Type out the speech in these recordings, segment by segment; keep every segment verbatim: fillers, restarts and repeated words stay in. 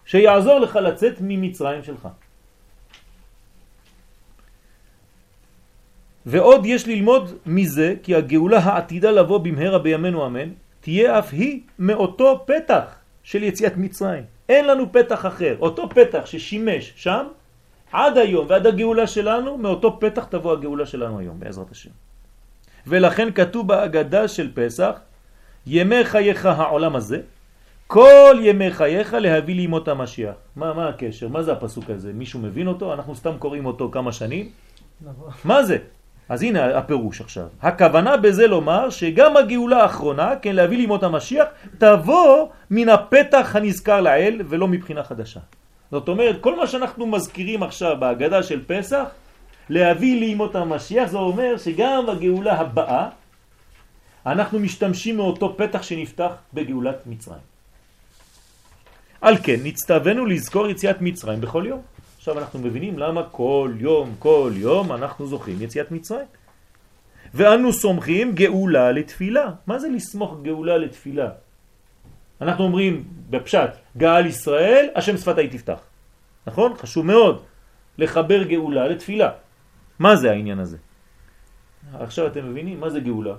שיעזור לך לצאת ממצרים שלך. ועוד יש ללמוד מזה כי הגאולה העתידה לבוא במהרה בימינו אמן תהיה אף היא מאותו פתח של יציאת מצרים. אין לנו פתח אחר. אותו פתח ששימש שם עד היום ועד הגאולה שלנו, מאותו פתח תבוא הגאולה שלנו היום בעזרת השם. ולכן כתוב בהגדה של פסח, ימי חייך העולם הזה, כל ימי חייך להביא לימות המשיח. מה, מה הקשר? מה זה הפסוק הזה? מישהו מבין אותו? אנחנו סתם קוראים אותו כמה שנים. מה זה? אז הנה הפירוש עכשיו. הכוונה בזה לומר שגם הגאולה האחרונה, כן, להביא לימות המשיח, תבוא מן הפתח הנזכר לעיל ולא מבחינה חדשה. זאת אומרת, כל מה שאנחנו מזכירים עכשיו בהגדה של פסח, להביא לימות המשיח, זה אומר שגם הגאולה הבאה, אנחנו משתמשים מאותו פתח שנפתח בגאולת מצרים. על כן, נצטווינו לזכור יציאת מצרים בכל יום. עכשיו אנחנו מבינים למה כל יום, כל יום אנחנו זוכים יציאת מצרים. ואנו סומכים גאולה לתפילה. מה זה לסמוך גאולה לתפילה? אנחנו אומרים בפשט, גאל ישראל, השם שפתי תפתח. נכון? חשוב מאוד לחבר גאולה לתפילה. מה זה העניין הזה? עכשיו אתם מבינים מה זה גאולה?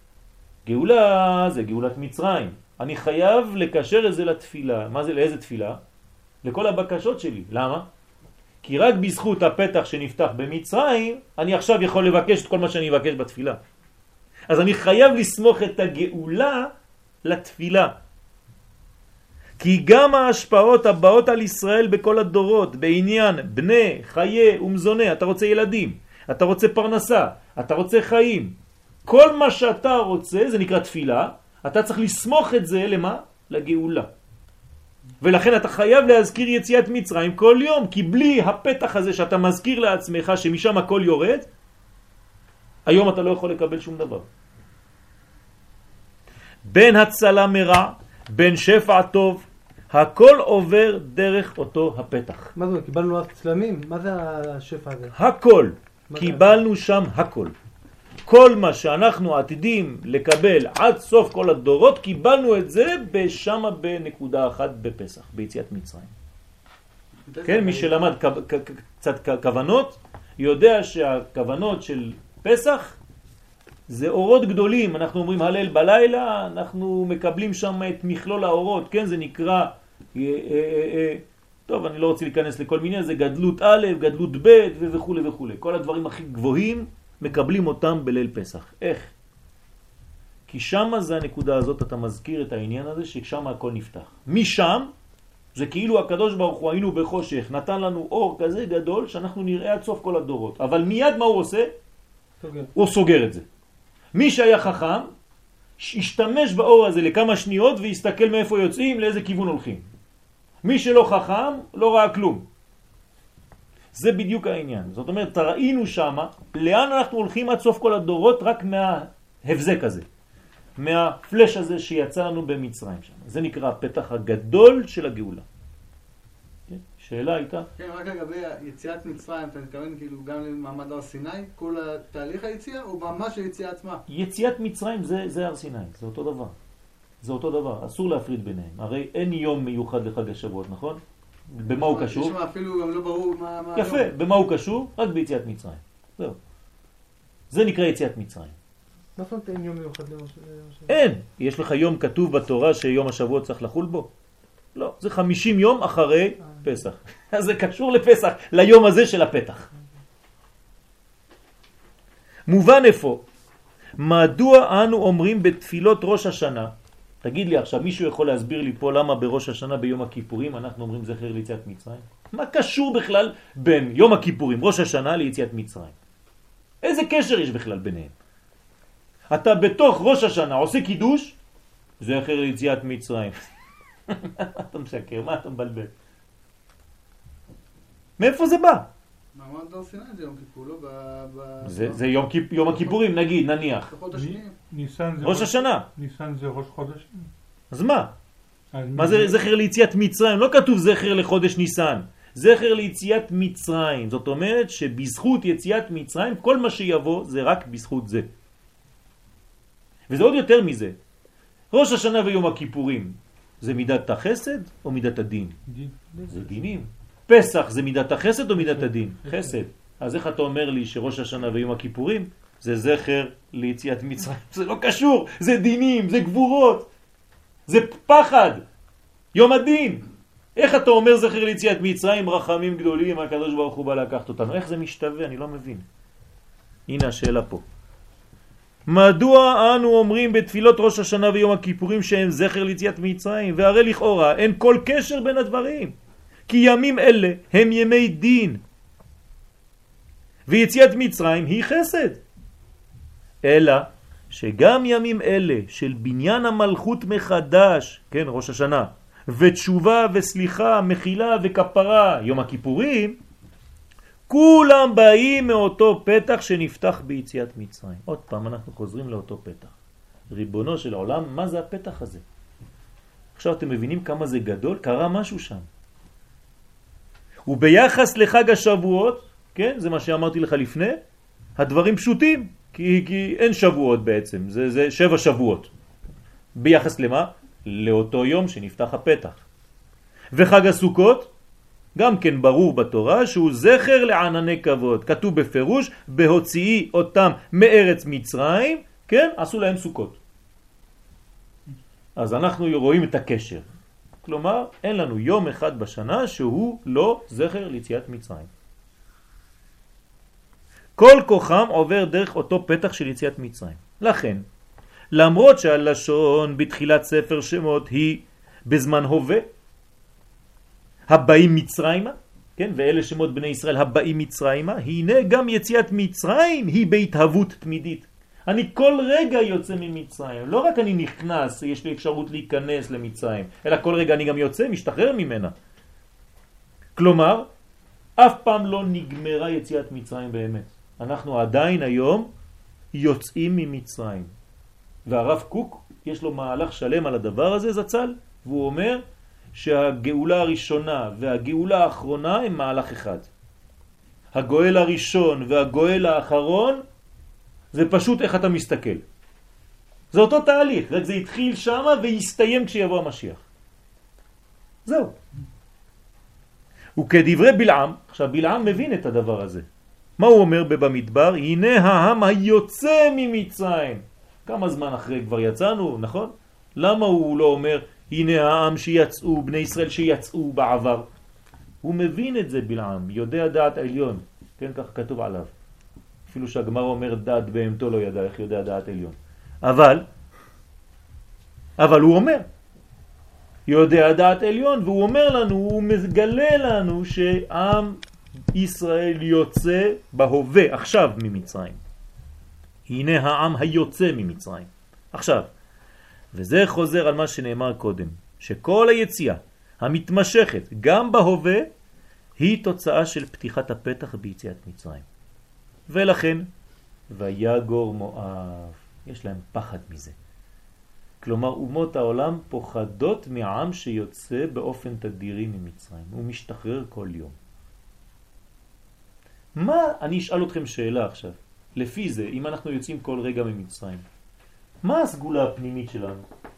גאולה זה גאולת מצרים. אני חייב לקשר את זה לתפילה. מה זה? לאיזה תפילה? לכל הבקשות שלי. למה? כי רק בזכות הפתח שנפתח במצרים, אני עכשיו יכול לבקש את כל מה שאני אבקש בתפילה. אז אני חייב לסמוך את הגאולה לתפילה. כי גם ההשפעות הבאות על ישראל בכל הדורות, בעניין בני, חיי ומזונה, אתה רוצה ילדים, אתה רוצה פרנסה, אתה רוצה חיים, כל מה שאתה רוצה, זה נקרא תפילה, אתה צריך לסמוך את זה למה? לגאולה. ולכן אתה חייב להזכיר יציאת מצרים כל יום, כי בלי הפתח הזה שאתה מזכיר לעצמך שמשם הכל יורד, היום אתה לא יכול לקבל שום דבר. בין הצלה מרע, בין שפע טוב, הכל עובר דרך אותו הפתח. מה זה? קיבלנו הצלמים? מה זה השפע הזה? הכל. קיבלנו שם הכל. כל מה שאנחנו עתידים לקבל עד סוף כל הדורות, קיבלנו את זה בשמה בנקודה אחת בפסח, ביציאת מצרים. כן, מי שלמד קצת כוונות, יודע שהכוונות של פסח זה אורות גדולים. אנחנו אומרים הלל בלילה, אנחנו מקבלים שם את מכלול האורות, כן, זה נקרא, אה, אה, אה, טוב, אני לא רוצה להיכנס לכל מיני, זה גדלות א', גדלות ב' וכו' וכו'. כל הדברים הכי גבוהים מקבלים אותם בליל פסח. איך? כי שם זה הנקודה הזאת, אתה מזכיר את העניין הזה ששם הכל נפתח. משם זה כאילו הקדוש ברוך הוא היינו בחושך, נתן לנו אור כזה גדול שאנחנו נראה עד סוף כל הדורות. אבל מיד מה הוא עושה? סוגר. הוא סוגר את זה. מי שהיה חכם, ישתמש באור הזה לכמה שניות ויסתכל מאיפה יוצאים, לאיזה כיוון הולכים. מי שלא חכם, לא ראה כלום. זה בדיוק העניין. זאת אומרת, ראינו שמה, לאן אנחנו הולכים עד סוף כל הדורות, רק מההבזק הזה. מהפלש הזה שיצא לנו במצרים שם. זה נקרא הפתח הגדול של הגאולה. שאלה הייתה? כן, רק לגבי יציאת מצרים, אתה מתכוון כאילו גם למעמד הר סיני, כל התהליך היציאה, או ממש היציאה עצמה? יציאת מצרים זה, זה הר סיני, זה אותו דבר. זה אותו דבר, אסור להפריד ביניהם. הרי אין יום מיוחד לחג השבועות, נכון? במה הוא קשור? יש אפילו גם לא ברור מה, מה יפה, היום. במה הוא קשור? רק ביציאת מצרים. זהו. זה נקרא יציאת מצרים. מה זאת אומרת אין יום מיוחד למשל? אין. יש לך יום כתוב בתורה שיום השבוע צריך לחול בו? לא. זה חמישים יום אחרי פסח. אז זה קשור לפסח, ליום הזה של הפתח. מובן איפה? מדוע אנו אומרים בתפילות ראש השנה? תגיד לי עכשיו, מישהו יכול להסביר לי פה למה בראש השנה ביום הכיפורים אנחנו אומרים זכר ליציאת מצרים? מה קשור בכלל בין יום הכיפורים, ראש השנה, ליציאת מצרים? איזה קשר יש בכלל ביניהם? אתה בתוך ראש השנה עושה קידוש, זכר ליציאת מצרים. מה אתה משקר? מה אתה מבלבל? מאיפה זה בא? מעמד הר סיני זה יום כיפור, לא? זה, זה יום, יום הכיפורים, נגיד, נניח. ניסן זה ראש השנה. ניסן זה ראש חודש. אז מה? מה זה זכר ליציאת מצרים? לא כתוב זכר לחודש ניסן. זכר ליציאת מצרים. זאת אומרת שבזכות יציאת מצרים, כל מה שיבוא זה רק בזכות זה. וזה עוד יותר מזה. ראש השנה ויום הכיפורים. זה מידת החסד או מידת הדין? דין. זה דינים. פסח זה מידת החסד או מידת הדין? חסד. אז איך אתה אומר לי שראש השנה ויום הכיפורים זה זכר ליציאת מצרים? זה לא קשור, זה דינים, זה גבורות, זה פחד, יום הדין. איך אתה אומר זכר ליציאת מצרים, רחמים גדולים, הקדוש ברוך הוא בא לקחת אותנו? איך זה משתווה? אני לא מבין. הנה השאלה פה. מדוע אנו אומרים בתפילות ראש השנה ויום הכיפורים שהם זכר ליציאת מצרים? והרי לכאורה אין כל קשר בין הדברים, כי ימים אלה הם ימי דין ויציאת מצרים היא חסד, אלא שגם ימים אלה של בניין המלכות מחדש, כן, ראש השנה, ותשובה וסליחה, מחילה וכפרה, יום הכיפורים, כולם באים מאותו פתח שנפתח ביציאת מצרים. עוד פעם אנחנו חוזרים לאותו פתח. ריבונו של העולם, מה זה הפתח הזה? עכשיו אתם מבינים כמה זה גדול? קרה משהו שם. וביחס לחג השבועות, כן, זה מה שאמרתי לך לפני, הדברים פשוטים, כי, כי אין שבועות בעצם, זה, זה שבע שבועות. ביחס למה? לאותו יום שנפתח הפתח. וחג הסוכות, גם כן ברור בתורה שהוא זכר לענני כבוד. כתוב בפירוש, בהוציאי אותם מארץ מצרים, כן, עשו להם סוכות. אז אנחנו רואים את הקשר. כלומר, אין לנו יום אחד בשנה שהוא לא זכר ליציאת מצרים. כל כוחם עובר דרך אותו פתח של יציאת מצרים. לכן, למרות שהלשון בתחילת ספר שמות היא בזמן הווה, הבאים מצרימה, כן, ואלה שמות בני ישראל הבאים מצרימה, הנה גם יציאת מצרים היא בהתהוות תמידית. אני כל רגע יוצא ממצרים, לא רק אני נכנס, יש לי אפשרות להיכנס למצרים, אלא כל רגע אני גם יוצא, משתחרר ממנה. כלומר, אף פעם לא נגמרה יציאת מצרים באמת. אנחנו עדיין היום יוצאים ממצרים. והרב קוק יש לו מהלך שלם על הדבר הזה, זצ"ל, והוא אומר שהגאולה הראשונה והגאולה האחרונה הם מהלך אחד. הגואל הראשון והגואל האחרון זה פשוט איך אתה מסתכל. זה אותו תהליך, רק זה התחיל שם ויסתיים כשיבוא המשיח. זהו. וכדברי בלעם, עכשיו בלעם מבין את הדבר הזה. מה הוא אומר במדבר? הנה העם היוצא ממצרים. כמה זמן אחרי כבר יצאנו, נכון? למה הוא לא אומר הנה העם שיצאו, בני ישראל שיצאו בעבר? הוא מבין את זה בלעם, יודע דעת עליון, כן, כך כתוב עליו. אפילו שהגמרא אומר דעת בהמתו לא ידע, איך יודע דעת עליון. אבל, אבל הוא אומר, יודע דעת עליון, והוא אומר לנו, הוא מגלה לנו שעם ישראל יוצא בהווה, עכשיו ממצרים. הנה העם היוצא ממצרים. עכשיו, וזה חוזר על מה שנאמר קודם, שכל היציאה המתמשכת גם בהווה היא תוצאה של פתיחת הפתח ביציאת מצרים. ולכן, ויגור מואב, יש להם פחד מזה. כלומר, אומות העולם פוחדות מעם שיוצא באופן תדירי ממצרים. הוא משתחרר כל יום. מה, אני אשאל אתכם שאלה עכשיו. לפי זה, אם אנחנו יוצאים כל רגע ממצרים, מה הסגולה הפנימית שלנו?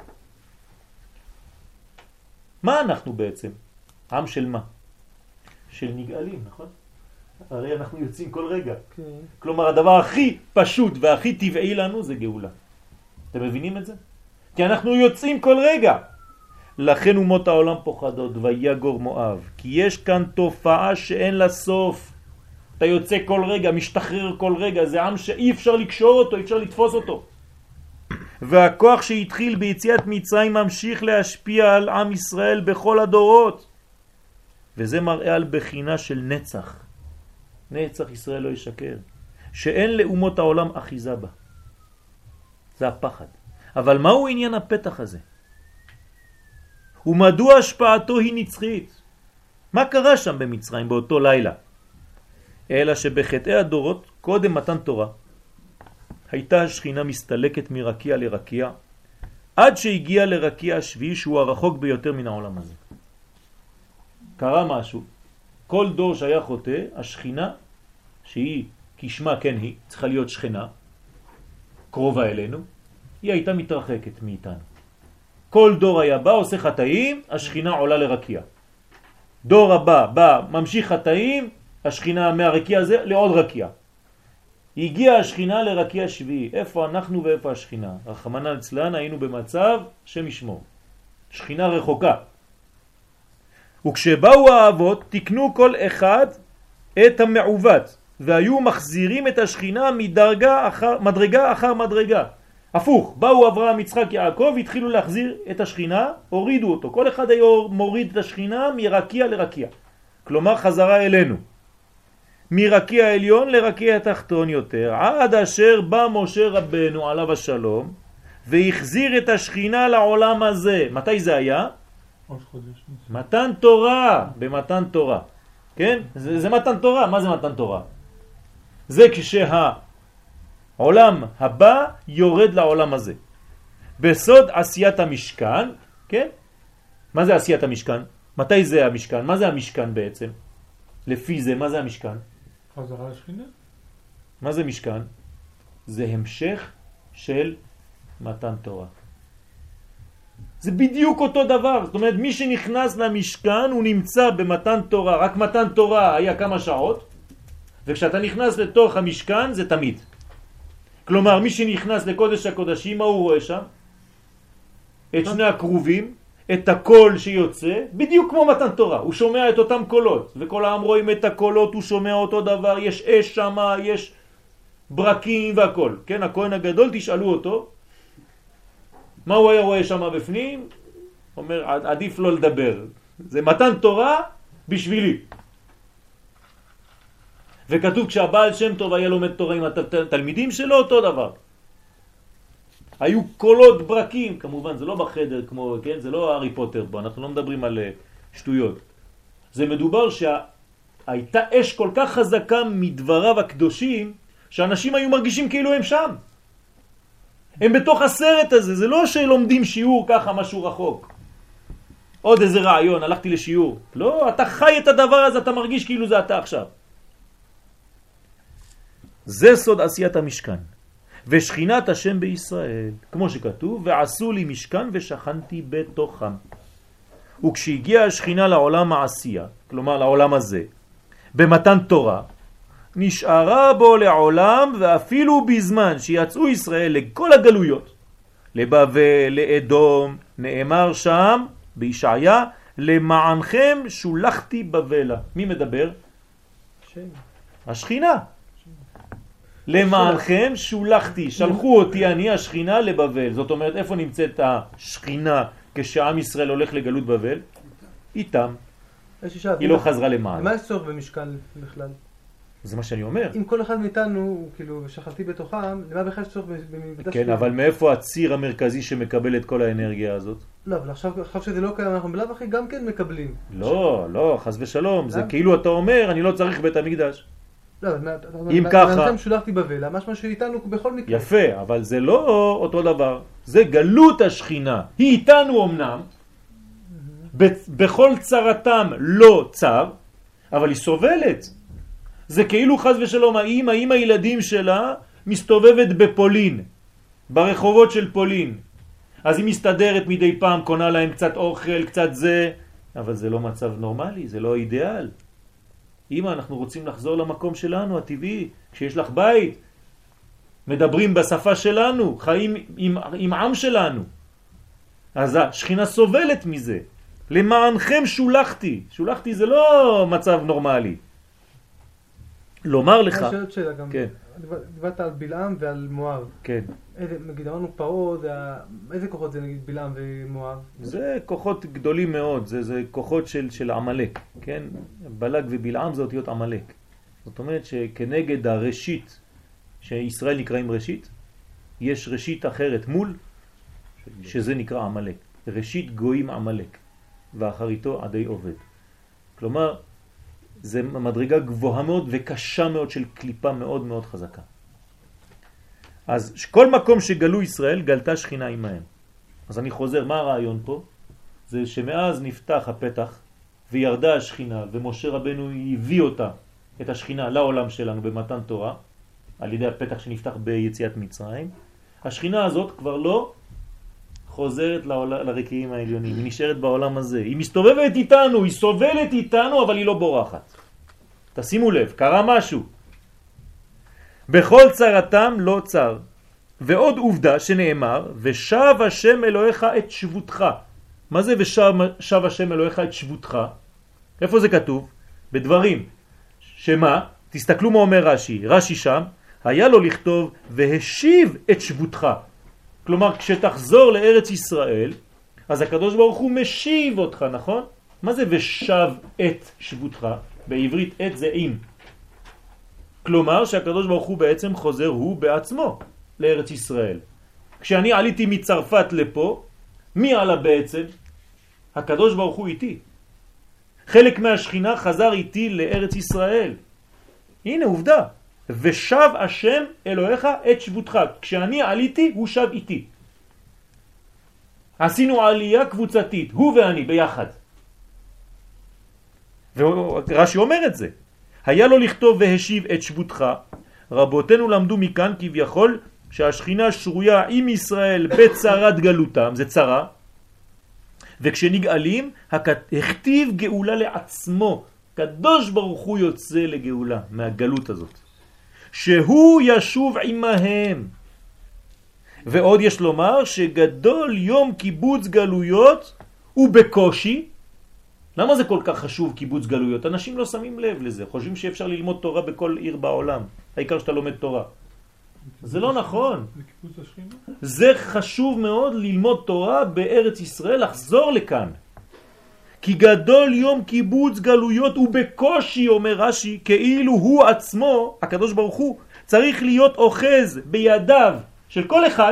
מה אנחנו בעצם? עם של מה? של נגאלים, נכון? הרי אנחנו יוצאים כל רגע. Okay. כלומר, הדבר הכי פשוט והכי טבעי לנו זה גאולה. אתם מבינים את זה? כי אנחנו יוצאים כל רגע. לכן אומות העולם פוחדות, ויגור מואב. כי יש כאן תופעה שאין לה סוף. אתה יוצא כל רגע, משתחרר כל רגע. זה עם שאי אפשר לקשור אותו, אי אפשר לתפוס אותו. והכוח שהתחיל ביציאת מצרים ממשיך להשפיע על עם ישראל בכל הדורות. וזה מראה על בחינה של נצח. נצח ישראל לא ישקר. שאין לאומות העולם אחיזה בה. זה הפחד. אבל מהו עניין הפתח הזה? ומדוע השפעתו היא נצחית? מה קרה שם במצרים באותו לילה? אלא שבחטאי הדורות, קודם מתן תורה, הייתה השכינה מסתלקת מרקיע לרקיע, עד שהגיעה לרקיע השביעי שהוא הרחוק ביותר מן העולם הזה. קרה משהו. כל דור שהיה חוטא, השכינה, שהיא כשמה כן היא, צריכה להיות שכנה, קרובה אלינו, היא הייתה מתרחקת מאיתנו. כל דור היה בא, עושה חטאים, השכינה עולה לרקיע. דור הבא בא, ממשיך חטאים, השכינה מהרקיע הזה לעוד רקיע. הגיעה השכינה לרקיע שביעי. איפה אנחנו ואיפה השכינה? רחמנא ליצלן, היינו במצב שמשמור. שכינה רחוקה. וכשבאו האבות, תקנו כל אחד את המעוות, והיו מחזירים את השכינה מדרגה אחר, מדרגה אחר מדרגה. הפוך, באו אברהם, יצחק, יעקב, התחילו להחזיר את השכינה, הורידו אותו. כל אחד היה מוריד את השכינה מרקיע לרקיע. כלומר חזרה אלינו. מרקיע העליון לרקיע התחתון יותר, עד אשר בא משה רבנו עליו השלום, והחזיר את השכינה לעולם הזה. מתי זה היה? ראש חודש. מתן תורה, במתן תורה. כן? זה, זה מתן תורה. מה זה מתן תורה? זה כשהעולם הבא יורד לעולם הזה. בסוד עשיית המשכן, כן? מה זה עשיית המשכן? מתי זה המשכן? מה זה המשכן בעצם? לפי זה, מה זה המשכן? חזרה לשכינה. מה זה משכן? זה המשך של מתן תורה. זה בדיוק אותו דבר. זאת אומרת, מי שנכנס למשכן הוא נמצא במתן תורה. רק מתן תורה היה כמה שעות, וכשאתה נכנס לתוך המשכן זה תמיד. כלומר, מי שנכנס לקודש הקודשים, מה הוא רואה שם? את שני הקרובים, את הקול שיוצא, בדיוק כמו מתן תורה. הוא שומע את אותם קולות, וכל העם רואים את הקולות, הוא שומע אותו דבר, יש אש שם, יש ברקים והכל. כן, הכהן הגדול, תשאלו אותו, מה הוא היה רואה שם בפנים? אומר, עדיף לא לדבר. זה מתן תורה בשבילי. וכתוב כשהבעל שם טוב היה לומד תורה עם התלמידים שלו, אותו דבר. היו קולות ברקים, כמובן זה לא בחדר כמו, כן? זה לא הארי פוטר פה, אנחנו לא מדברים על שטויות. זה מדובר שהייתה אש כל כך חזקה מדבריו הקדושים, שאנשים היו מרגישים כאילו הם שם. הם בתוך הסרט הזה, זה לא שלומדים שיעור ככה משהו רחוק. עוד איזה רעיון, הלכתי לשיעור. לא, אתה חי את הדבר הזה, אתה מרגיש כאילו זה אתה עכשיו. זה סוד עשיית המשכן. ושכינת השם בישראל, כמו שכתוב, ועשו לי משכן ושכנתי בתוכם. וכשהגיעה השכינה לעולם העשייה, כלומר לעולם הזה, במתן תורה, נשארה בו לעולם, ואפילו בזמן שיצאו ישראל לכל הגלויות, לבבל, לאדום, נאמר שם בישעיה, למענכם שולחתי בבלה. מי מדבר? שם. השכינה. למענכם שולחתי, שלחו אותי אני השכינה לבבל. זאת אומרת, איפה נמצאת השכינה כשעם ישראל הולך לגלות בבל? איתם. היא לא חזרה למען. מה יש צורך במשכן בכלל? זה מה שאני אומר. אם כל אחד מאיתנו, כאילו, שכלתי בתוכם, למה בכלל יש צורך במקדש? כן, אבל מאיפה הציר המרכזי שמקבל את כל האנרגיה הזאת? לא, אבל עכשיו שזה לא קיים, אנחנו בלב אחי גם כן מקבלים. לא, לא, חס ושלום. זה כאילו אתה אומר, אני לא צריך בית המקדש. לא, אם ככה... אני שולחתי בבלה, משמע שאיתנו בכל מקרה. יפה, אבל זה לא אותו דבר. זה גלות השכינה. היא איתנו אמנם, בכל צרתם לא צר, אבל היא סובלת. זה כאילו חס ושלום, האמא, עם הילדים שלה, מסתובבת בפולין, ברחובות של פולין. אז היא מסתדרת מדי פעם, קונה להם קצת אוכל, קצת זה, אבל זה לא מצב נורמלי, זה לא אידיאל. אמא, אנחנו רוצים לחזור למקום שלנו, הטבעי, כשיש לך בית, מדברים בשפה שלנו, חיים עם, עם עם שלנו. אז השכינה סובלת מזה. למענכם שולחתי. שולחתי זה לא מצב נורמלי. לומר לך... אני שואלת שאלה גם. כן. דיברת על בלעם ועל מואב. כן. איזה, נגיד, אמרנו פרעה, איזה כוחות זה נגיד בלעם ומואב? זה כוחות גדולים מאוד, זה, זה כוחות של, של עמלק, כן? בלק ובלעם זה אותיות עמלק. זאת אומרת שכנגד הראשית, שישראל נקראים ראשית, יש ראשית אחרת מול, שזה נקרא עמלק. ראשית גויים עמלק, ואחריתו עדי עובד. כלומר, זה מדרגה גבוהה מאוד וקשה מאוד של קליפה מאוד מאוד חזקה. אז כל מקום שגלו ישראל, גלתה שכינה עמהם. אז אני חוזר, מה הרעיון פה? זה שמאז נפתח הפתח וירדה השכינה, ומשה רבנו הביא אותה, את השכינה, לעולם שלנו במתן תורה, על ידי הפתח שנפתח ביציאת מצרים. השכינה הזאת כבר לא חוזרת לעול... לרקיעים העליונים, היא נשארת בעולם הזה, היא מסתובבת איתנו, היא סובלת איתנו, אבל היא לא בורחת. תשימו לב, קרה משהו. בכל צרתם לא צר. ועוד עובדה שנאמר, ושב השם אלוהיך את שבותך. מה זה ושב השם אלוהיך את שבותך? איפה זה כתוב? בדברים. שמה? תסתכלו מה אומר רש"י. רש"י שם, היה לו לכתוב והשיב את שבותך. כלומר, כשתחזור לארץ ישראל, אז הקדוש ברוך הוא משיב אותך, נכון? מה זה ושב את שבותך? בעברית את זה עם. כלומר, שהקדוש ברוך הוא בעצם חוזר הוא בעצמו לארץ ישראל. כשאני עליתי מצרפת לפה, מי עלה בעצם? הקדוש ברוך הוא איתי. חלק מהשכינה חזר איתי לארץ ישראל. הנה עובדה. ושב השם אלוהיך את שבותך. כשאני עליתי, הוא שב איתי. עשינו עלייה קבוצתית, הוא ואני ביחד. ורש"י אומר את זה. היה לו לכתוב והשיב את שבותך. רבותינו למדו מכאן כביכול שהשכינה שרויה עם ישראל בצרת גלותם, זה צרה. וכשנגאלים, הכתיב גאולה לעצמו. קדוש ברוך הוא יוצא לגאולה מהגלות הזאת. שהוא ישוב עמהם. ועוד יש לומר שגדול יום קיבוץ גלויות ובקושי. למה זה כל כך חשוב קיבוץ גלויות? אנשים לא שמים לב לזה, חושבים שאפשר ללמוד תורה בכל עיר בעולם, העיקר שאתה לומד תורה. זה לא נכון. זה חשוב מאוד ללמוד תורה בארץ ישראל, לחזור לכאן. כי גדול יום קיבוץ גלויות ובקושי, אומר רש"י, כאילו הוא עצמו, הקדוש ברוך הוא, צריך להיות אוחז בידיו של כל אחד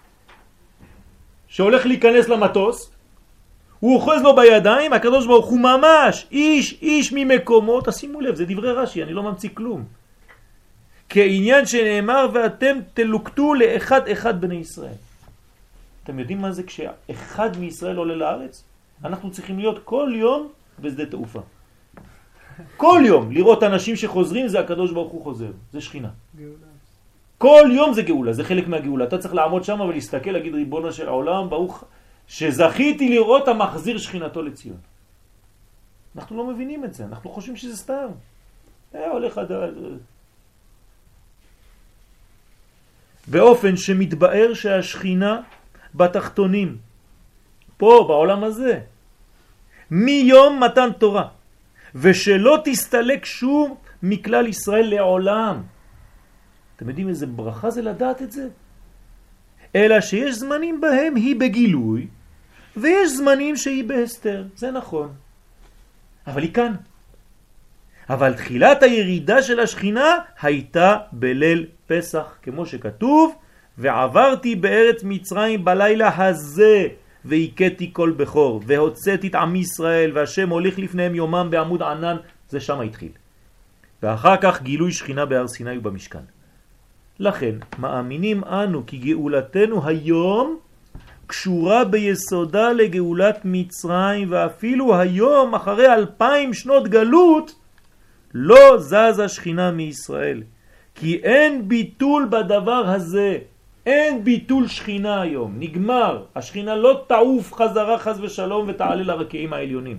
שהולך להיכנס למטוס, הוא אוחז לו בידיים, הקדוש ברוך הוא ממש, איש איש ממקומו, תשימו לב, זה דברי רש"י, אני לא ממציא כלום. כעניין שנאמר, ואתם תלוקטו לאחד אחד בני ישראל. אתם יודעים מה זה כשאחד מישראל עולה לארץ? אנחנו צריכים להיות כל יום בשדה תעופה. כל יום לראות אנשים שחוזרים, זה הקדוש ברוך הוא חוזר, זה שכינה. גאולה. כל יום זה גאולה, זה חלק מהגאולה. אתה צריך לעמוד שם ולהסתכל, להגיד ריבונו של העולם, ברוך שזכיתי לראות המחזיר שכינתו לציון. אנחנו לא מבינים את זה, אנחנו חושבים שזה סתם. אה, הולך עד... באופן שמתבאר שהשכינה בתחתונים, פה בעולם הזה, מיום מתן תורה, ושלא תסתלק שום מכלל ישראל לעולם. אתם יודעים איזה ברכה זה לדעת את זה? אלא שיש זמנים בהם היא בגילוי, ויש זמנים שהיא בהסתר, זה נכון. אבל היא כאן. אבל תחילת הירידה של השכינה הייתה בליל פסח, כמו שכתוב, ועברתי בארץ מצרים בלילה הזה, והיקטי כל בכור, והוצאתי את עם ישראל, והשם הוליך לפניהם יומם בעמוד ענן, זה שם התחיל. ואחר כך גילוי שכינה בהר סיני ובמשכן. לכן מאמינים אנו כי גאולתנו היום קשורה ביסודה לגאולת מצרים, ואפילו היום אחרי אלפיים שנות גלות לא זזה שכינה מישראל, כי אין ביטול בדבר הזה. אין ביטול שכינה היום, נגמר. השכינה לא תעוף חזרה חז ושלום ותעלה לרקיעים העליונים.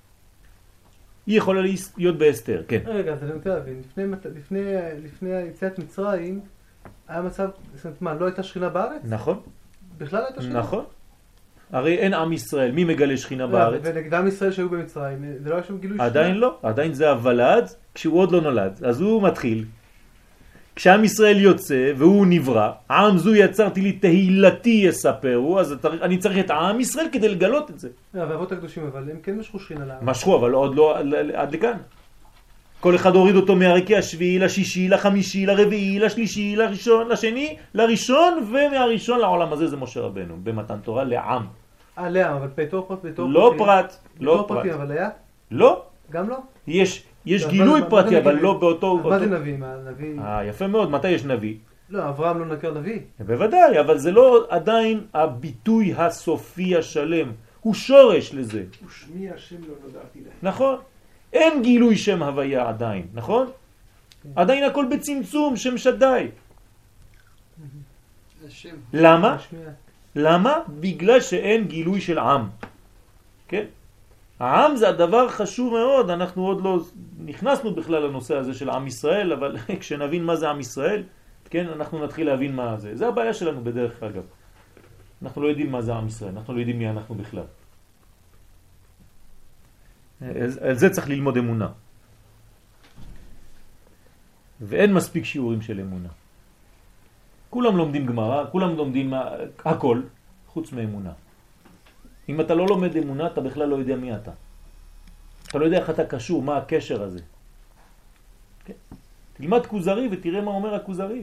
היא יכולה להיות בהסתר, כן. רגע, אז אני רוצה להבין, לפני, לפני, לפני יציאת מצרים היה מצב, זאת אומרת, מה, לא הייתה שכינה בארץ? נכון. בכלל הייתה שכינה? נכון. הרי אין עם ישראל, מי מגלה שכינה בארץ? ונגד עם ישראל שהיו במצרים, זה לא היה שם גילוי שכינה? עדיין לא, עדיין זה הוולד כשהוא עוד לא נולד, אז הוא מתחיל. כשעם ישראל יוצא והוא נברא, עם זו יצרתי לי תהילתי יספרו, אז אני צריך את עם ישראל כדי לגלות את זה. והאבות הקדושים, אבל הם כן משכו שכינה לארץ. משכו, אבל עוד לא עד לכאן. כל אחד הוריד אותו מהרקיע השביעי, לשישי, לחמישי, לרביעי, לשלישי, לראשון, לשני, לראשון, ומהראשון לעולם הזה זה משה רבנו, במתן תורה לעם. אה, לעם, אבל בתור פרט, בתור פרטי. לא פרט, לא פרט. פרטי, אבל היה? לא. גם לא? יש, יש גילוי פרטי, אבל לא באותו... מה זה נביא? מה, נביא? אה, יפה מאוד, מתי יש נביא? לא, אברהם לא נקר נביא. בוודאי, אבל זה לא עדיין הביטוי הסופי השלם. הוא שורש לזה. ושמי השם לא נודעתי להם. נכון. אין גילוי שם הוויה עדיין, נכון? עדיין הכל בצמצום, שם שדי. למה? למה? בגלל שאין גילוי של עם. כן? העם זה הדבר חשוב מאוד, אנחנו עוד לא נכנסנו בכלל לנושא הזה של עם ישראל, אבל כשנבין מה זה עם ישראל, כן, אנחנו נתחיל להבין מה זה. זה הבעיה שלנו בדרך אגב. אנחנו לא יודעים מה זה עם ישראל, אנחנו לא יודעים מי אנחנו בכלל. על זה צריך ללמוד אמונה. ואין מספיק שיעורים של אמונה. כולם לומדים גמרא, כולם לומדים הכל, חוץ מאמונה. אם אתה לא לומד אמונה, אתה בכלל לא יודע מי אתה. אתה לא יודע איך אתה קשור, מה הקשר הזה. כן? תלמד כוזרי ותראה מה אומר הכוזרי.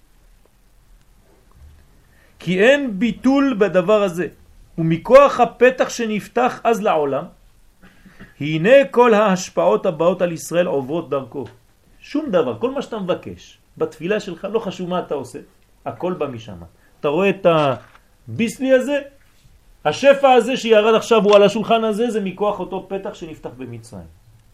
כי אין ביטול בדבר הזה, ומכוח הפתח שנפתח אז לעולם, הנה כל ההשפעות הבאות על ישראל עוברות דרכו. שום דבר, כל מה שאתה מבקש, בתפילה שלך, לא חשוב מה אתה עושה, הכל בא משם. אתה רואה את הביסלי הזה, השפע הזה שירד עכשיו הוא על השולחן הזה, זה מכוח אותו פתח שנפתח במצרים.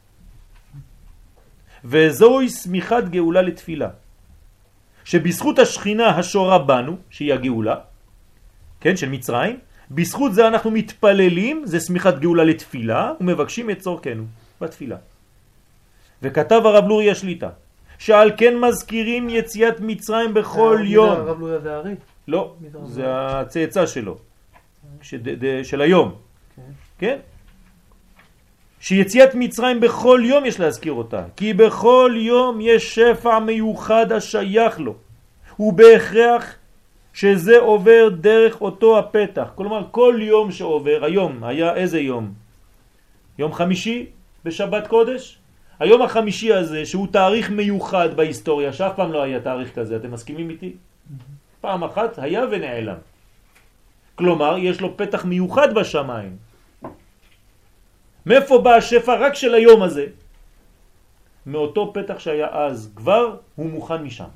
וזוהי סמיכת גאולה לתפילה. שבזכות השכינה השורה בנו, שהיא הגאולה, כן, של מצרים, בזכות זה אנחנו מתפללים, זה סמיכת גאולה לתפילה, ומבקשים את צורכנו בתפילה. וכתב הרב לוריה שליטה, שעל כן מזכירים יציאת מצרים בכל יום. הרב לוריה זה הארי? לא, זה הצאצא שלו, של היום. כן? שיציאת מצרים בכל יום יש להזכיר אותה, כי בכל יום יש שפע מיוחד השייך לו, ובהכרח שזה עובר דרך אותו הפתח. כלומר, כל יום שעובר, היום היה איזה יום? יום חמישי בשבת קודש? היום החמישי הזה, שהוא תאריך מיוחד בהיסטוריה, שאף פעם לא היה תאריך כזה, אתם מסכימים איתי? פעם אחת היה ונעלם. כלומר, יש לו פתח מיוחד בשמיים. מאיפה בא השפע? רק של היום הזה. מאותו פתח שהיה אז, כבר הוא מוכן משם.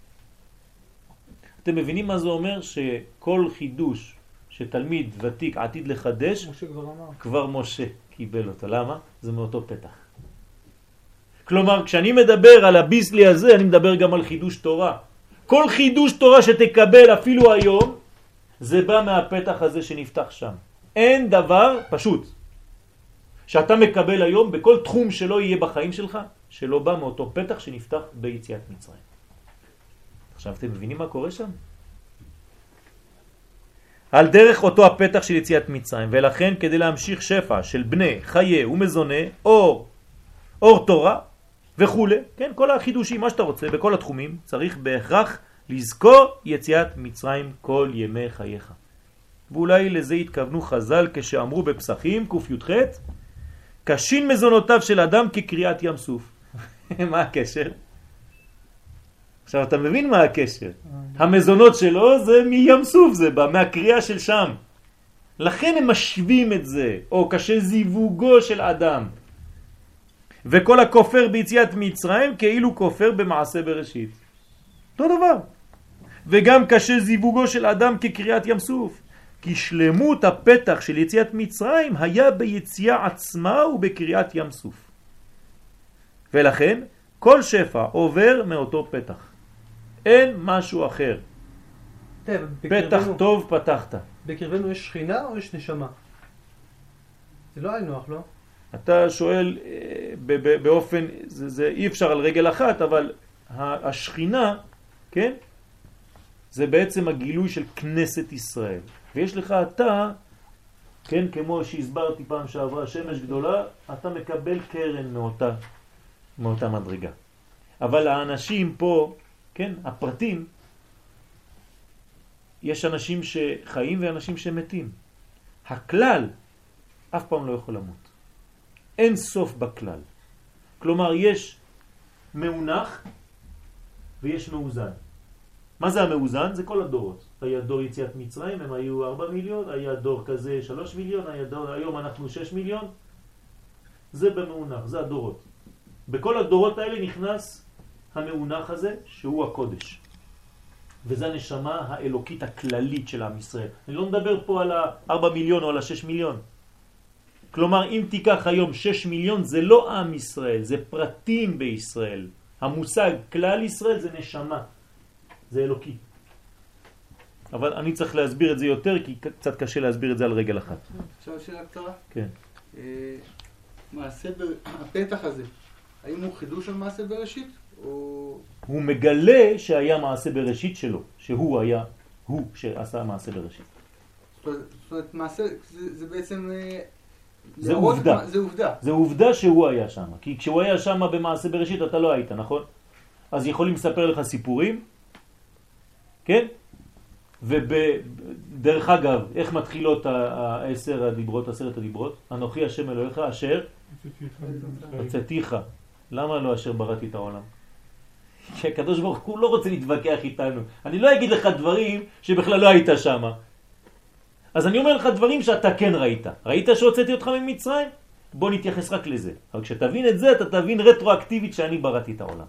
אתם מבינים מה זה אומר? שכל חידוש שתלמיד ותיק עתיד לחדש, משה כבר אמר. כבר משה קיבל אותו. למה? זה מאותו פתח. כלומר, כשאני מדבר על הביסלי הזה, אני מדבר גם על חידוש תורה. כל חידוש תורה שתקבל אפילו היום, זה בא מהפתח הזה שנפתח שם. אין דבר פשוט שאתה מקבל היום בכל תחום שלא יהיה בחיים שלך, שלא בא מאותו פתח שנפתח ביציאת מצרים. עכשיו אתם מבינים מה קורה שם? על דרך אותו הפתח של יציאת מצרים, ולכן כדי להמשיך שפע של בני, חיי ומזונה, אור, אור תורה וכו', כן, כל החידושים, מה שאתה רוצה, בכל התחומים, צריך בהכרח לזכור יציאת מצרים כל ימי חייך. ואולי לזה התכוונו חז"ל כשאמרו בפסחים ק"ח, קשין מזונותיו של אדם כקריאת ים סוף. מה הקשר? עכשיו אתה מבין מה הקשר. המזונות שלו זה מים סוף, זה בא מהקריאה של שם. לכן הם משווים את זה, או קשה זיווגו של אדם. וכל הכופר ביציאת מצרים כאילו כופר במעשה בראשית. אותו דבר. וגם קשה זיווגו של אדם כקריאת ים סוף. כי שלמות הפתח של יציאת מצרים היה ביציאה עצמה ובקריאת ים סוף. ולכן כל שפע עובר מאותו פתח. אין משהו אחר. פתח טוב פתחת. בקרבנו יש שכינה או יש נשמה? זה לא היינו אך, לא? אתה שואל באופן, זה, זה אי אפשר על רגל אחת, אבל השכינה, כן? זה בעצם הגילוי של כנסת ישראל. ויש לך אתה, כן, כמו שהסברתי פעם שעברה, שמש גדולה, אתה מקבל קרן מאותה, מאותה מדרגה. אבל האנשים פה, כן, הפרטים, יש אנשים שחיים ואנשים שמתים. הכלל אף פעם לא יכול למות. אין סוף בכלל. כלומר, יש מאונח ויש מאוזן. מה זה המאוזן? זה כל הדורות. היה דור יציאת מצרים, הם היו ארבע מיליון, היה דור כזה שלוש מיליון, היה דור, היום אנחנו שש מיליון. זה במאונח, זה הדורות. בכל הדורות האלה נכנס המאונח הזה, שהוא הקודש. וזה הנשמה האלוקית הכללית של עם ישראל. אני לא מדבר פה על ה-ארבע מיליון או על ה-שש מיליון. כלומר, אם תיקח היום שש מיליון, זה לא עם ישראל, זה פרטים בישראל. המושג כלל ישראל זה נשמה. זה אלוקי. אבל אני צריך להסביר את זה יותר, כי קצת קשה להסביר את זה על רגל אחת. עכשיו שאלה קצרה. כן. מעשה, הפתח הזה, האם הוא חידוש של מעשה בראשית, או... הוא מגלה שהיה מעשה בראשית שלו, שהוא היה, הוא שעשה מעשה בראשית. זאת אומרת, מעשה, זה, זה בעצם... זה עובדה. זה עובדה. זה עובדה שהוא היה שם. כי כשהוא היה שם במעשה בראשית אתה לא היית, נכון? אז יכולים לספר לך סיפורים, כן? ודרך אגב, איך מתחילות העשר הדיברות, עשרת הדיברות? אנוכי השם אלוהיך אשר הוצאתיך. למה לא אשר בראתי את העולם? כי הקדוש ברוך הוא לא רוצה להתווכח איתנו. אני לא אגיד לך דברים שבכלל לא היית שם. אז אני אומר לך דברים שאתה כן ראית. ראית שהוצאתי אותך ממצרים? בוא נתייחס רק לזה. אבל כשתבין את זה, אתה תבין רטרואקטיבית שאני בראתי את העולם.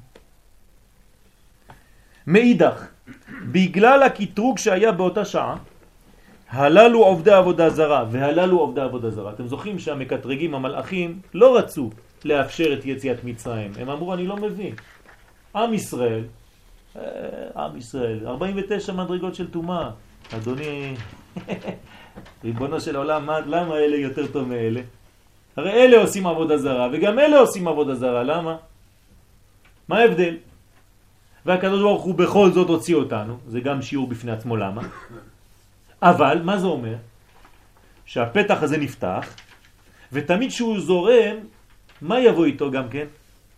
מאידך, בגלל הקטרוג שהיה באותה שעה, הללו עובדי עבודה זרה, והללו עובדי עבודה זרה. אתם זוכרים שהמקטרגים, המלאכים, לא רצו לאפשר את יציאת מצרים. הם אמרו, אני לא מבין. עם ישראל, עם ישראל, ארבעים ותשע מדרגות של תומה. אדוני, ריבונו של עולם, למה אלה יותר טוב מאלה? הרי אלה עושים עבודה זרה, וגם אלה עושים עבודה זרה. למה? מה ההבדל? והקדוש ברוך הוא בכל זאת הוציא אותנו, זה גם שיעור בפני עצמו למה. אבל מה זה אומר? שהפתח הזה נפתח, ותמיד שהוא זורם, מה יבוא איתו גם כן?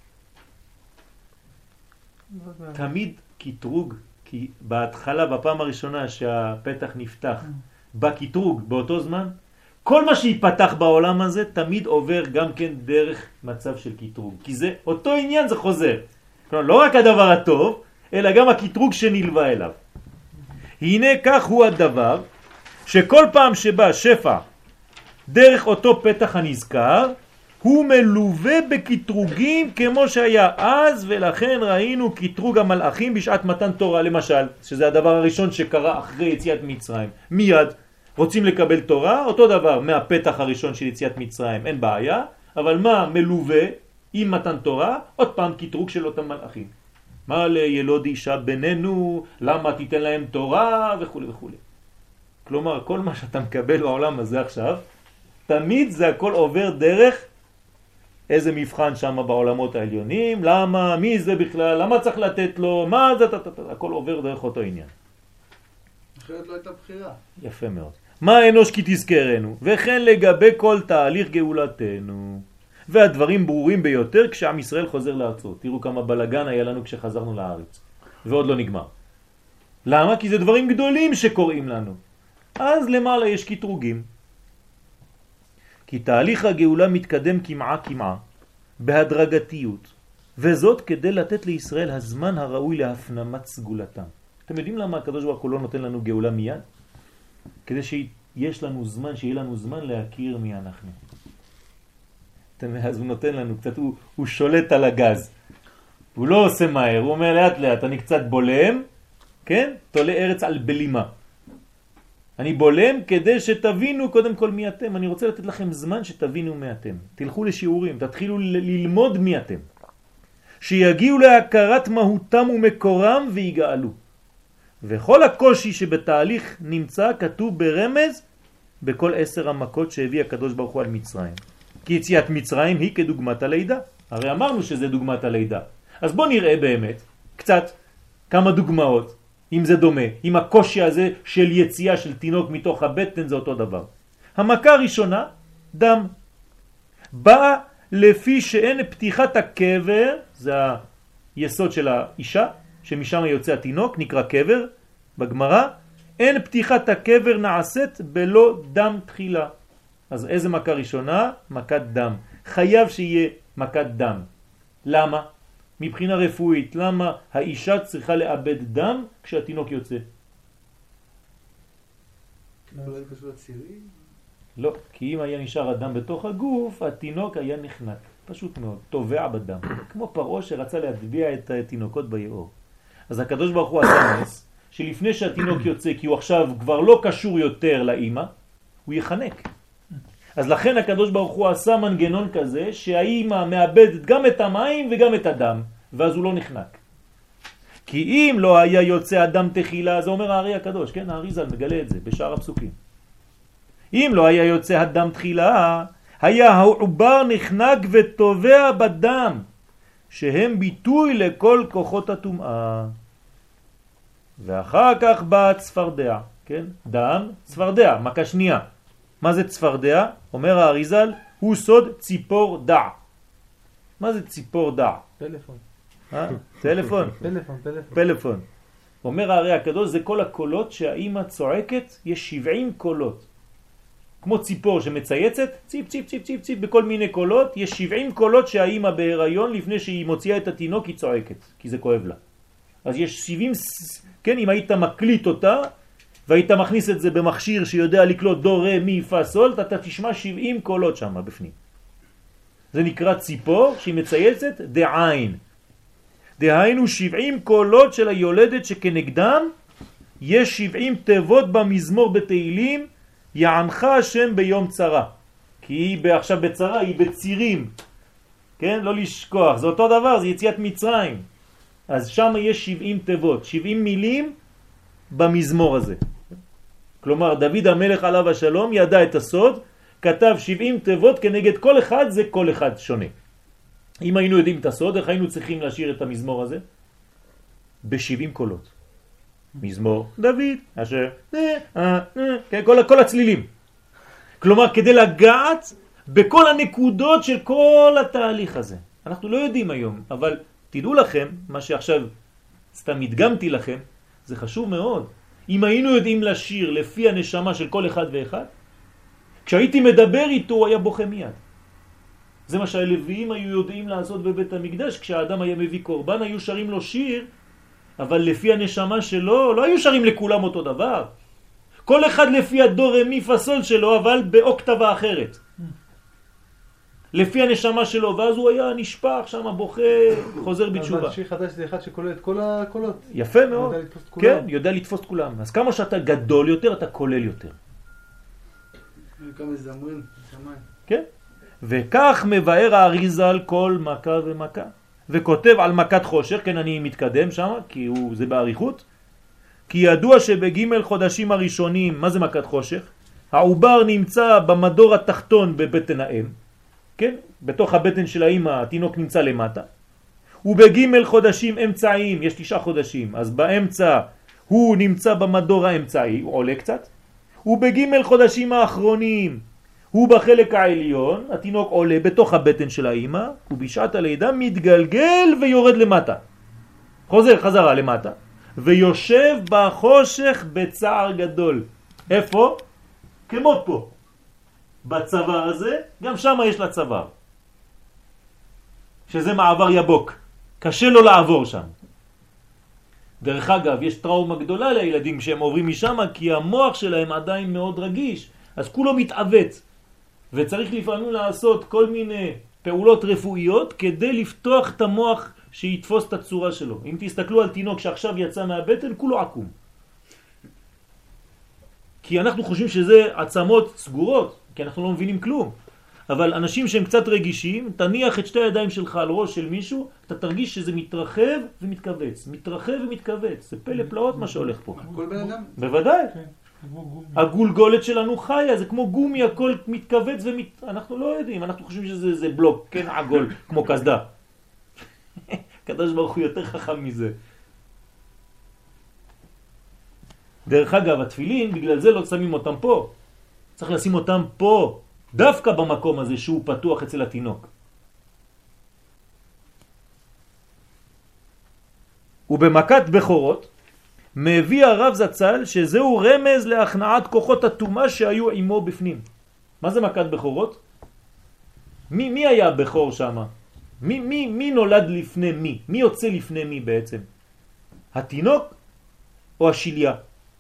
תמיד קטרוג, כי בהתחלה, בפעם הראשונה שהפתח נפתח, בקטרוג, באותו זמן, כל מה שיפתח בעולם הזה תמיד עובר גם כן דרך מצב של קטרוג. כי זה, אותו עניין זה חוזר. כלומר, לא רק הדבר הטוב, אלא גם הקטרוג שנלווה אליו. הנה כך הוא הדבר, שכל פעם שבא שפע דרך אותו פתח הנזכר, הוא מלווה בקטרוגים כמו שהיה אז, ולכן ראינו קטרוג המלאכים בשעת מתן תורה, למשל, שזה הדבר הראשון שקרה אחרי יציאת מצרים. מיד רוצים לקבל תורה, אותו דבר מהפתח הראשון של יציאת מצרים, אין בעיה, אבל מה מלווה עם מתן תורה? עוד פעם קטרוג של אותם מלאכים. מה לילוד אישה בינינו, למה תיתן להם תורה וכו' וכו'. כלומר, כל מה שאתה מקבל בעולם הזה עכשיו, תמיד זה הכל עובר דרך איזה מבחן שם בעולמות העליונים, למה, מי זה בכלל, למה צריך לתת לו, מה זה, הכל עובר דרך אותו עניין. אחרת לא הייתה בחירה. יפה מאוד. מה אנוש כי תזכרנו, וכן לגבי כל תהליך גאולתנו. והדברים ברורים ביותר כשעם ישראל חוזר לארצו. תראו כמה בלגן היה לנו כשחזרנו לארץ. ועוד לא נגמר. למה? כי זה דברים גדולים שקוראים לנו. אז למעלה יש קטרוגים. כי תהליך הגאולה מתקדם כמעה כמעה, בהדרגתיות, וזאת כדי לתת לישראל הזמן הראוי להפנמת סגולתם. אתם יודעים למה הקדוש ברוך הוא לא נותן לנו גאולה מיד? כדי שיש לנו זמן, שיהיה לנו זמן להכיר מי אנחנו. אז הוא נותן לנו קצת, הוא, הוא שולט על הגז. הוא לא עושה מהר, הוא אומר לאט לאט, אני קצת בולם, כן? תולה ארץ על בלימה. אני בולם כדי שתבינו קודם כל מי אתם. אני רוצה לתת לכם זמן שתבינו מי אתם. תלכו לשיעורים, תתחילו ללמוד מי אתם. שיגיעו להכרת מהותם ומקורם ויגאלו. וכל הקושי שבתהליך נמצא כתוב ברמז בכל עשר המכות שהביא הקדוש ברוך הוא על מצרים. כי יציאת מצרים היא כדוגמת הלידה. הרי אמרנו שזה דוגמת הלידה. אז בוא נראה באמת קצת כמה דוגמאות. אם זה דומה, אם הקושי הזה של יציאה של תינוק מתוך הבטן זה אותו דבר. המכה הראשונה, דם. באה לפי שאין פתיחת הקבר, זה היסוד של האישה, שמשם יוצא התינוק, נקרא קבר, בגמרא, אין פתיחת הקבר נעשית בלא דם תחילה. אז איזה מכה ראשונה? מכת דם. חייב שיהיה מכת דם. למה? מבחינה רפואית, למה האישה צריכה לאבד דם כשהתינוק יוצא? לא היה קשור לצירים? לא, כי אם היה נשאר הדם בתוך הגוף, התינוק היה נחנק. פשוט מאוד, טובע בדם. כמו פרעה שרצה להטביע את התינוקות ביאור. אז הקדוש ברוך הוא עשה נס, שלפני שהתינוק יוצא, כי הוא עכשיו כבר לא קשור יותר לאמא, הוא יחנק. אז לכן הקדוש ברוך הוא עשה מנגנון כזה שהאימא מאבדת גם את המים וגם את הדם, ואז הוא לא נחנק. כי אם לא היה יוצא אדם תחילה, זה אומר הארי הקדוש, כן? האריזל מגלה את זה בשאר הפסוקים. אם לא היה יוצא הדם תחילה, היה העובר נחנק וטובע בדם, שהם ביטוי לכל כוחות הטומאה. ואחר כך בא צפרדע, כן? דם, צפרדע, מכה שנייה. מה זה צפרדע? אומר האריזל, הוא סוד ציפור דע. מה זה ציפור דע? פלאפון. אה? טלפון? פלאפון, פלאפון. פלאפון. אומר הארי הקדוש, זה כל הקולות שהאימא צועקת, יש שבעים קולות. כמו ציפור שמצייצת, ציפ ציפ ציפ ציפ ציפ בכל מיני קולות, יש שבעים קולות שהאימא בהיריון לפני שהיא מוציאה את התינוק היא צועקת, כי זה כואב לה. אז יש שבעים, כן, אם היית מקליט אותה והיית מכניס את זה במכשיר שיודע לקלוט דו רה מי פה סול, אתה תשמע שבעים קולות שם בפנים. זה נקרא ציפור שהיא מצייצת דעין. דהיינו שבעים קולות של היולדת שכנגדם יש שבעים תיבות במזמור בתהילים, יענך השם ביום צרה. כי היא עכשיו בצרה, היא בצירים. כן? לא לשכוח. זה אותו דבר, זה יציאת מצרים. אז שם יש שבעים תיבות, שבעים מילים במזמור הזה. כלומר, דוד המלך עליו השלום ידע את הסוד, כתב שבעים תיבות כנגד כל אחד, זה כל אחד שונה. אם היינו יודעים את הסוד, איך היינו צריכים להשאיר את המזמור הזה? ב-שבעים קולות. מזמור דוד, אשר, אה, אה, אה, כל, כל הצלילים. כלומר, כדי לגעת בכל הנקודות של כל התהליך הזה. אנחנו לא יודעים היום, אבל תדעו לכם, מה שעכשיו סתם הדגמתי לכם, זה חשוב מאוד. אם היינו יודעים לשיר לפי הנשמה של כל אחד ואחד, כשהייתי מדבר איתו, הוא היה בוכה מיד. זה מה שהלוויים היו יודעים לעשות בבית המקדש, כשהאדם היה מביא קורבן, היו שרים לו שיר, אבל לפי הנשמה שלו, לא היו שרים לכולם אותו דבר. כל אחד לפי הדור מי פסול שלו, אבל באוקטבה אחרת. לפי הנשמה שלו, ואז הוא היה נשפח שם, בוכה, חוזר בתשובה. אבל שיר חדש זה אחד שכולל את כל הקולות. יפה מאוד. יודע לתפוס את כולם. כן, יודע לתפוס את כולם. אז כמה שאתה גדול יותר, אתה כולל יותר. כמה זמרים, שמיים. כן. וכך מבאר האריזל כל מכה ומכה. וכותב על מכת חושך, כן, אני מתקדם שם, כי הוא, זה בעריכות. כי ידוע שבג' חודשים הראשונים, מה זה מכת חושך? העובר נמצא במדור התחתון בבטן האם, כן? בתוך הבטן של האמא התינוק נמצא למטה. ובג' חודשים אמצעיים, יש תשעה חודשים, אז באמצע הוא נמצא במדור האמצעי, הוא עולה קצת. ובג' חודשים האחרונים, הוא בחלק העליון, התינוק עולה בתוך הבטן של האמא, ובשעת הלידה מתגלגל ויורד למטה. חוזר חזרה למטה, ויושב בחושך בצער גדול. איפה? כמו פה. בצוואר הזה, גם שם יש לה צוואר. שזה מעבר יבוק. קשה לו לעבור שם. דרך אגב, יש טראומה גדולה לילדים שהם עוברים משם, כי המוח שלהם עדיין מאוד רגיש, אז כולו מתעוות. וצריך לפעמים לעשות כל מיני פעולות רפואיות כדי לפתוח את המוח שיתפוס את הצורה שלו. אם תסתכלו על תינוק שעכשיו יצא מהבטן, כולו עקום. כי אנחנו חושבים שזה עצמות סגורות, כי אנחנו לא מבינים כלום. אבל אנשים שהם קצת רגישים, תניח את שתי הידיים שלך על ראש של מישהו, אתה תרגיש שזה מתרחב ומתכווץ. מתרחב ומתכווץ. זה פלא פלאות מה שהולך פה. כל בן אדם? בוודאי. כן, כמו גומי. הגולגולת שלנו חיה, זה כמו גומי, הכל מתכווץ ומת... אנחנו לא יודעים, אנחנו חושבים שזה זה בלוק, כן, עגול, כמו כסדה. קדוש ברוך הוא יותר חכם מזה. דרך אגב, התפילין, בגלל זה לא שמים אותם פה. צריך לשים אותם פה, דווקא במקום הזה שהוא פתוח אצל התינוק. ובמכת בכורות, מביא הרב זצ"ל שזהו רמז להכנעת כוחות הטומאה שהיו עמו בפנים. מה זה מכת בכורות? מי, מי היה בכור שם? מי, מי, מי נולד לפני מי? מי יוצא לפני מי בעצם? התינוק או השיליה?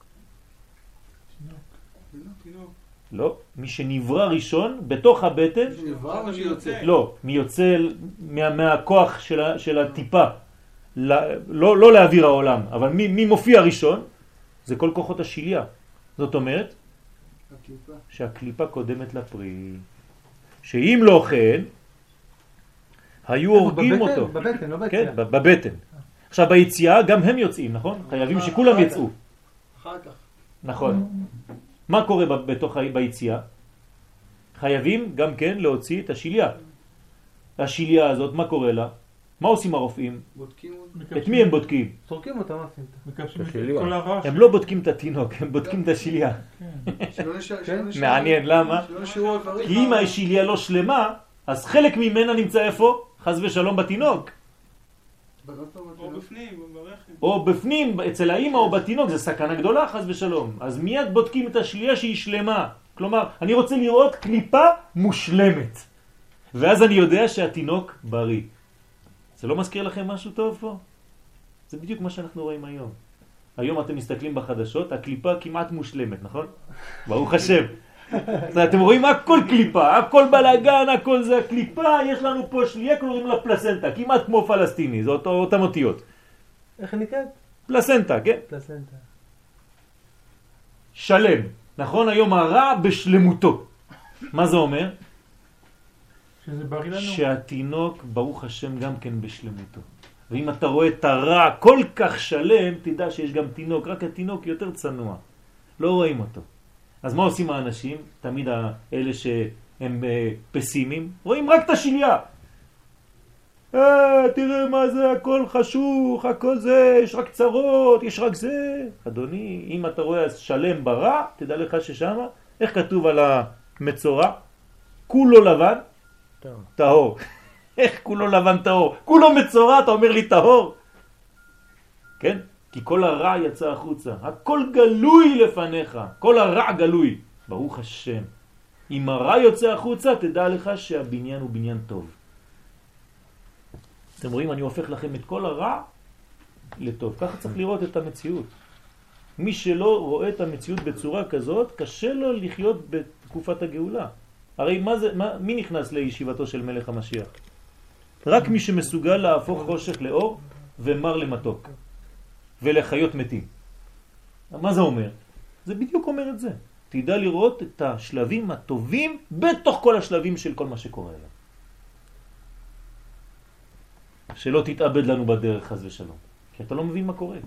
לא, מי שנברא ראשון בתוך הבטן, נברא או שיוצא? לא, מי יוצא מה, מהכוח של, ה, של הטיפה, לא, לא, לא להעביר העולם, אבל מי, מי מופיע ראשון? זה כל כוחות השיליה. זאת אומרת הקליפה. שהקליפה קודמת לפרי, שאם לא כן, היו הורגים בבטן, אותו. בבטן, לא כן, ביציאה. בבטן. עכשיו ביציאה גם הם יוצאים, נכון? חייבים שכולם יצאו. אחר כך. נכון. מה קורה בתוך ביציאה? חייבים גם כן להוציא את השיליה. השיליה הזאת, מה קורה לה? מה עושים הרופאים? בודקים את מי הם בודקים? זורקים אותם, מה עושים? מקשרים את כל הרעש. הם לא בודקים את התינוק, הם בודקים את השיליה. מעניין, למה? כי אם השיליה לא שלמה, אז חלק ממנה נמצא איפה? חס ושלום בתינוק. או בפנים, ברכב. או בפנים, אצל האמא או בתינוק, זה סכנה גדולה חס ושלום. אז מיד בודקים את השיליה שהיא שלמה. כלומר, אני רוצה לראות קליפה מושלמת. ואז אני יודע שהתינוק בריא. זה לא מזכיר לכם משהו טוב פה? זה בדיוק מה שאנחנו רואים היום. היום אתם מסתכלים בחדשות, הקליפה כמעט מושלמת, נכון? ברוך השם. אתם רואים הכל קליפה, הכל בלגן, הכל זה הקליפה, יש לנו פה שליה, קוראים לה פלסנטה, כמעט כמו פלסטיני, זה אותו, אותם אותיות. איך היא נקראת? פלסנטה, כן? פלסנטה. שלם. נכון? היום הרע בשלמותו. מה זה אומר? שזה בריא לנו. שהתינוק, ברוך השם, גם כן בשלמותו. ואם אתה רואה את הרע כל כך שלם, תדע שיש גם תינוק, רק התינוק יותר צנוע. לא רואים אותו. אז מה עושים האנשים? תמיד האלה שהם פסימיים, רואים רק את השיליה. אה, תראה מה זה, הכל חשוך, הכל זה, יש רק צרות, יש רק זה. אדוני, אם אתה רואה שלם ברע, תדע לך ששם, איך כתוב על המצורע? כולו לבן, טהור. איך כולו לבן טהור? כולו מצורע, אתה אומר לי טהור? כן? כי כל הרע יצא החוצה. הכל גלוי לפניך. כל הרע גלוי. ברוך השם. אם הרע יוצא החוצה, תדע לך שהבניין הוא בניין טוב. אתם רואים, אני הופך לכם את כל הרע לטוב. ככה צריך לראות את המציאות. מי שלא רואה את המציאות בצורה כזאת, קשה לו לחיות בתקופת הגאולה. הרי מה זה, מה, מי נכנס לישיבתו של מלך המשיח? רק מי שמסוגל להפוך חושך לאור ומר למתוק ולחיות מתים. מה זה אומר? זה בדיוק אומר את זה. תדע לראות את השלבים הטובים בתוך כל השלבים של כל מה שקורה אליו. שלא תתאבד לנו בדרך חס ושלום, כי אתה לא מבין מה קורה.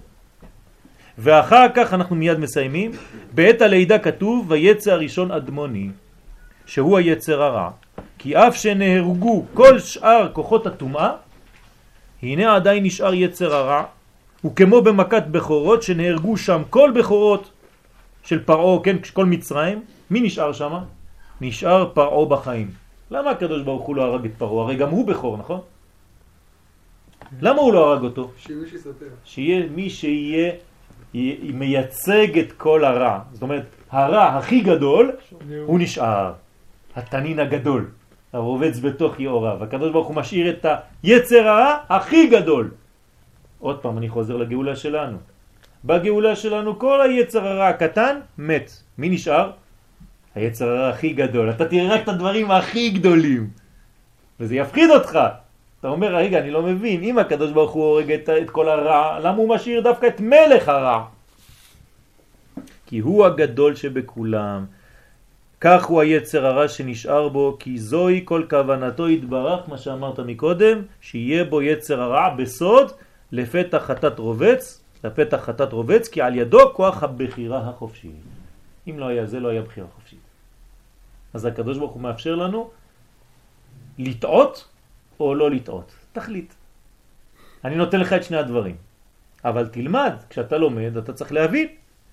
ואחר כך אנחנו מיד מסיימים. בעת הלידה כתוב ויצא הראשון אדמוני, שהוא היצר הרע, כי אף שנהרגו כל שאר כוחות הטומאה, הנה עדיין נשאר יצר הרע, וכמו במכת בכורות שנהרגו שם כל בכורות של פרעו, כן, כל מצרים, מי נשאר שם? נשאר פרעו בחיים. למה הקדוש ברוך הוא לא הרג את פרעו? הרי גם הוא בכור, נכון? למה הוא לא הרג אותו? שיהיה מי שיספר. שיהיה מי שיהיה מייצג את כל הרע. זאת אומרת, הרע הכי גדול הוא נשאר. התנין הגדול, הרובץ בתוך יאוריו. הקדוש ברוך הוא משאיר את היצר הרע הכי גדול. עוד פעם אני חוזר לגאולה שלנו. בגאולה שלנו כל היצר הרע הקטן מת. מי נשאר? היצר הרע הכי גדול. אתה תראה רק את הדברים הכי גדולים. וזה יפחיד אותך. אתה אומר, רגע, אני לא מבין, אם הקדוש ברוך הוא הורג את, את כל הרע, למה הוא משאיר דווקא את מלך הרע? כי הוא הגדול שבכולם. כך הוא היצר הרע שנשאר בו, כי זוהי כל כוונתו יתברך, מה שאמרת מקודם, שיהיה בו יצר הרע בסוד, לפתח חטאת רובץ, לפתח חטאת רובץ, כי על ידו כוח הבחירה החופשי. אם לא היה זה, לא היה בחירה חופשית. אז הקדוש ברוך הוא מאפשר לנו לטעות, או לא לטעות. תחליט. אני נותן לך את שני הדברים. אבל תלמד, כשאתה לומד, אתה צריך להבין.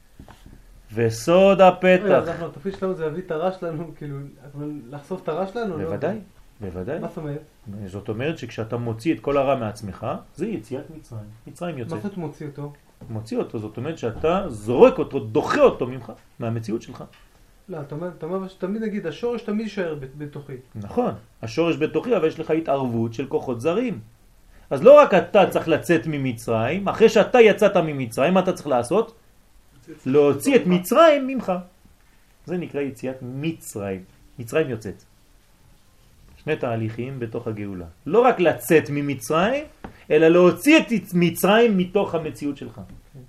וסוד הפתח. אנחנו, התפקיד שלנו זה להביא את הרע שלנו, כאילו, לחשוף את הרע שלנו? בוודאי, בוודאי. מה זאת אומרת? זאת אומרת שכשאתה מוציא את כל הרע מעצמך, זה יציאת מצרים. מצרים יוצא. מה זאת מוציא אותו? מוציא אותו, זאת אומרת שאתה זורק אותו, דוחה אותו ממך, מהמציאות שלך. לא, אתה אומר, אתה אומר שתמיד נגיד, השורש תמיד יישאר בתוכי. נכון, השורש בתוכי, אבל יש לך התערבות של כוחות זרים. אז לא רק אתה צריך לצאת ממצרים, אחרי שאתה יצאת ממצרים, מה אתה צריך לעשות? להוציא את מצרים ממך. זה נקרא יציאת מצרים. מצרים יוצאת. שני תהליכים בתוך הגאולה. לא רק לצאת ממצרים, אלא להוציא את מצרים מתוך המציאות שלך.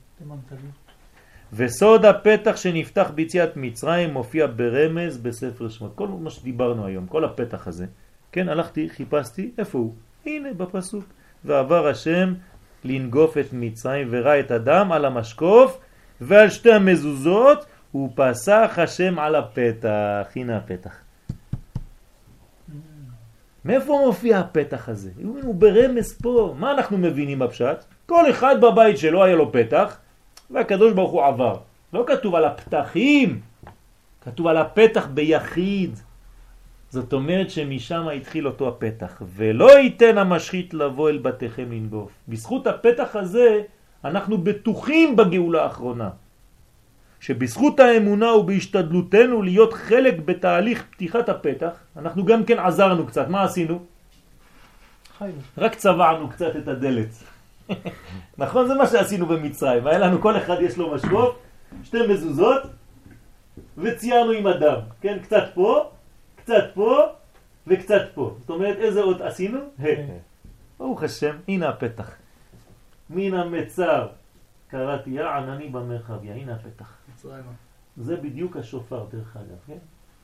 וסוד הפתח שנפתח ביציאת מצרים מופיע ברמז בספר שמות. כל מה שדיברנו היום, כל הפתח הזה. כן, הלכתי, חיפשתי, איפה הוא? הנה בפסוק. ועבר השם לנגוף את מצרים וראה את הדם על המשקוף ועל שתי המזוזות, ופסח השם על הפתח. הנה הפתח. מאיפה מופיע הפתח הזה? הוא ברמז פה. מה אנחנו מבינים בפשט? כל אחד בבית שלו היה לו פתח, והקדוש ברוך הוא עבר. לא כתוב על הפתחים, כתוב על הפתח ביחיד. זאת אומרת שמשם התחיל אותו הפתח. ולא ייתן המשחית לבוא אל בתיכם לנגוף. בזכות הפתח הזה אנחנו בטוחים בגאולה האחרונה. שבזכות האמונה ובהשתדלותנו להיות חלק בתהליך פתיחת הפתח, אנחנו גם כן עזרנו קצת. מה עשינו? חיינו. רק צבענו קצת את הדלת. נכון? זה מה שעשינו במצרים. היה לנו, כל אחד יש לו משקוף, שתי מזוזות, וציירנו עם הדם. כן? קצת פה, קצת פה, וקצת פה. זאת אומרת, איזה עוד עשינו? ברוך השם, הנה הפתח. מן המצר קראתי יא ענני במרחביה. הנה הפתח. זה בדיוק השופר דרך אגב, כן?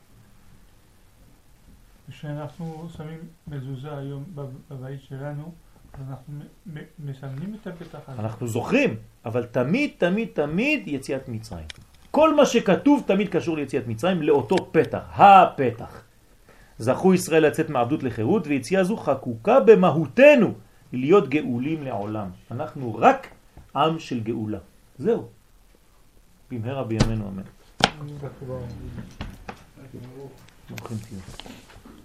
כשאנחנו שמים מזוזה היום בבית שלנו, אנחנו מסמנים את הפתח הזה. אנחנו זוכרים, אבל תמיד, תמיד, תמיד יציאת מצרים. כל מה שכתוב תמיד קשור ליציאת מצרים, לאותו פתח, הפתח. זכו ישראל לצאת מעבדות לחירות, ויציאה זו חקוקה במהותנו, להיות גאולים לעולם. אנחנו רק עם של גאולה. זהו. במהרה בימינו אמן. ברוכים תהיו.